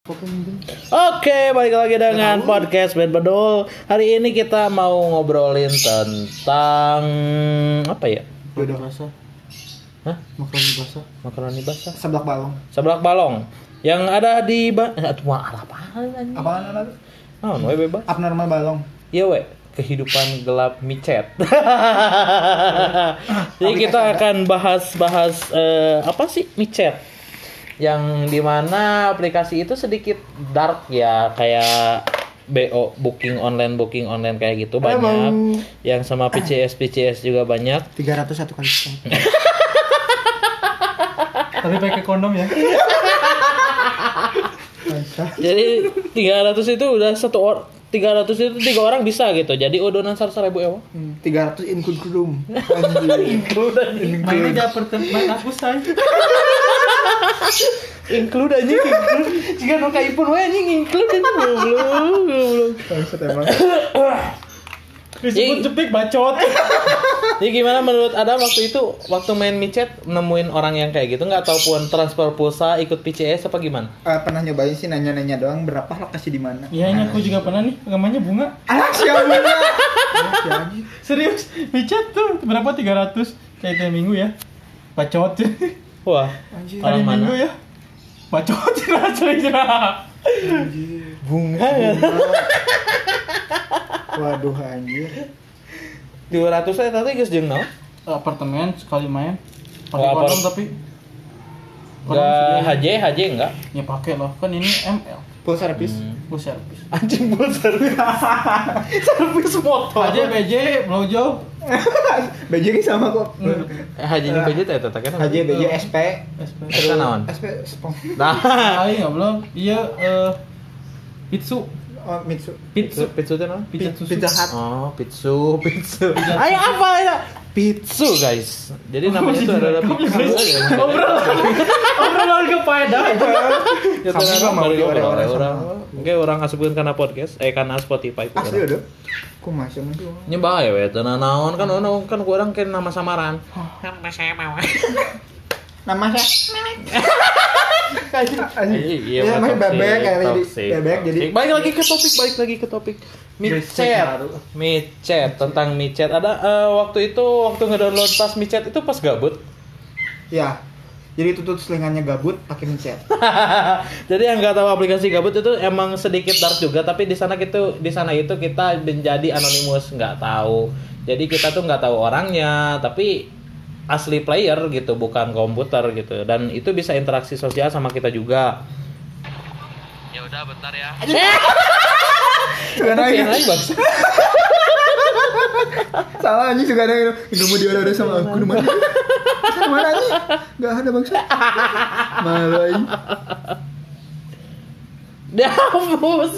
Oke, balik lagi dengan podcast Band Bedul. Hari ini kita mau ngobrolin tentang apa ya? Makaroni basah. Hah? Makaroni basah. Makaroni basah. Seblak balong. Seblak balong. Yang ada di apaan anjing? Apaan ada? Oh, we bebas. Abnormal balong. Iya, we. Kehidupan gelap micet. Jadi kita akan bahas apa sih micet? Yang dimana aplikasi itu sedikit dark ya, kayak BO booking online kayak gitu banyak. Yang sama PCS juga banyak. 300 satu kali sekali. Tapi pakai kondom ya. Jadi 300 itu udah 300 itu 3 orang bisa gitu. Jadi odonan 1.000 ewa. 300 include room. Mainnya dapat tempat aku say. Include anjing. Jika nu ka ipun we anjing include anjing goblok. Bangsat emang. Disebut cepik bacot. Jadi gimana menurut Adam waktu main micet nemuin orang yang kayak gitu, nggak tahu pun transfer pulsa ikut PCS apa gimana? Pernah nyobain sih, nanya-nanya doang berapa lokasi di mana. Iya, ini aku juga pernah nih, namanya bunga. Anak siapa bunga? Serius, micet tuh berapa 300 kayak tiap minggu ya. Bacot. Wah, Hari orang Minggu mana? ya. Bacot cerah. Bunga ya. Waduh anjir. 200 saya tadi geus jeung naon? Apartemen sekali main. Pakai Oh, kondom tapi Enggak HJ enggak? ya pakai lah, kan ini ML. Full service. Full service. Anjing buat servis. Servis motor. Aja BJ blowjob. BJ ki sama kok. HJ jeung BJ teh eta kan. HJ BJ SP. Eta naon? SP spong. Nah, Aing belum. Iya Pitsu. Oh, Mitsu. pizza teh naon? Pizza susu. Pizza Hut. Oh, pizza. Ayo apa ya? Pizza guys. Jadi namanya itu adalah pizza. Obrolan kepada. Ya Kamu nggak mau di orang-orang orang. sama. Oke, orang asupkeun kana podcast, karena Spotify. Asli udah. Ku masih mah tuh. Nyembah ya we teu naon kan ku urang ke nama samaran. Nama saya. Iya, Ya, main bebek kayak bebek jadi. Balik lagi ke topik. Micet tentang micet. Ada waktu ngedownload pas micet itu pas gabut. Ya. Jadi tutut selingannya gabut pakai micet. Jadi yang nggak tahu aplikasi gabut itu emang sedikit dark juga, tapi di sana itu kita menjadi anonimus, nggak tahu. Jadi kita tuh nggak tahu orangnya, tapi asli player gitu, bukan komputer gitu. Dan itu bisa interaksi sosial sama kita juga. Ya udah bentar ya. Karena Lagi bang. salah anjing juga ada yang mau diada sama aku mana? Mana anjing? Enggak ada bangsa. Malu anjing. Dahus.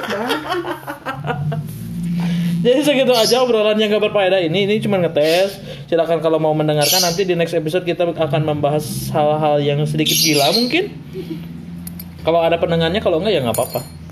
Jadi segitu aja obrolan yang gak berfaedah ini cuma ngetes. Silakan kalau mau mendengarkan, nanti di next episode kita akan membahas hal-hal yang sedikit gila mungkin. Kalau ada pendengarnya, kalau enggak ya nggak apa-apa.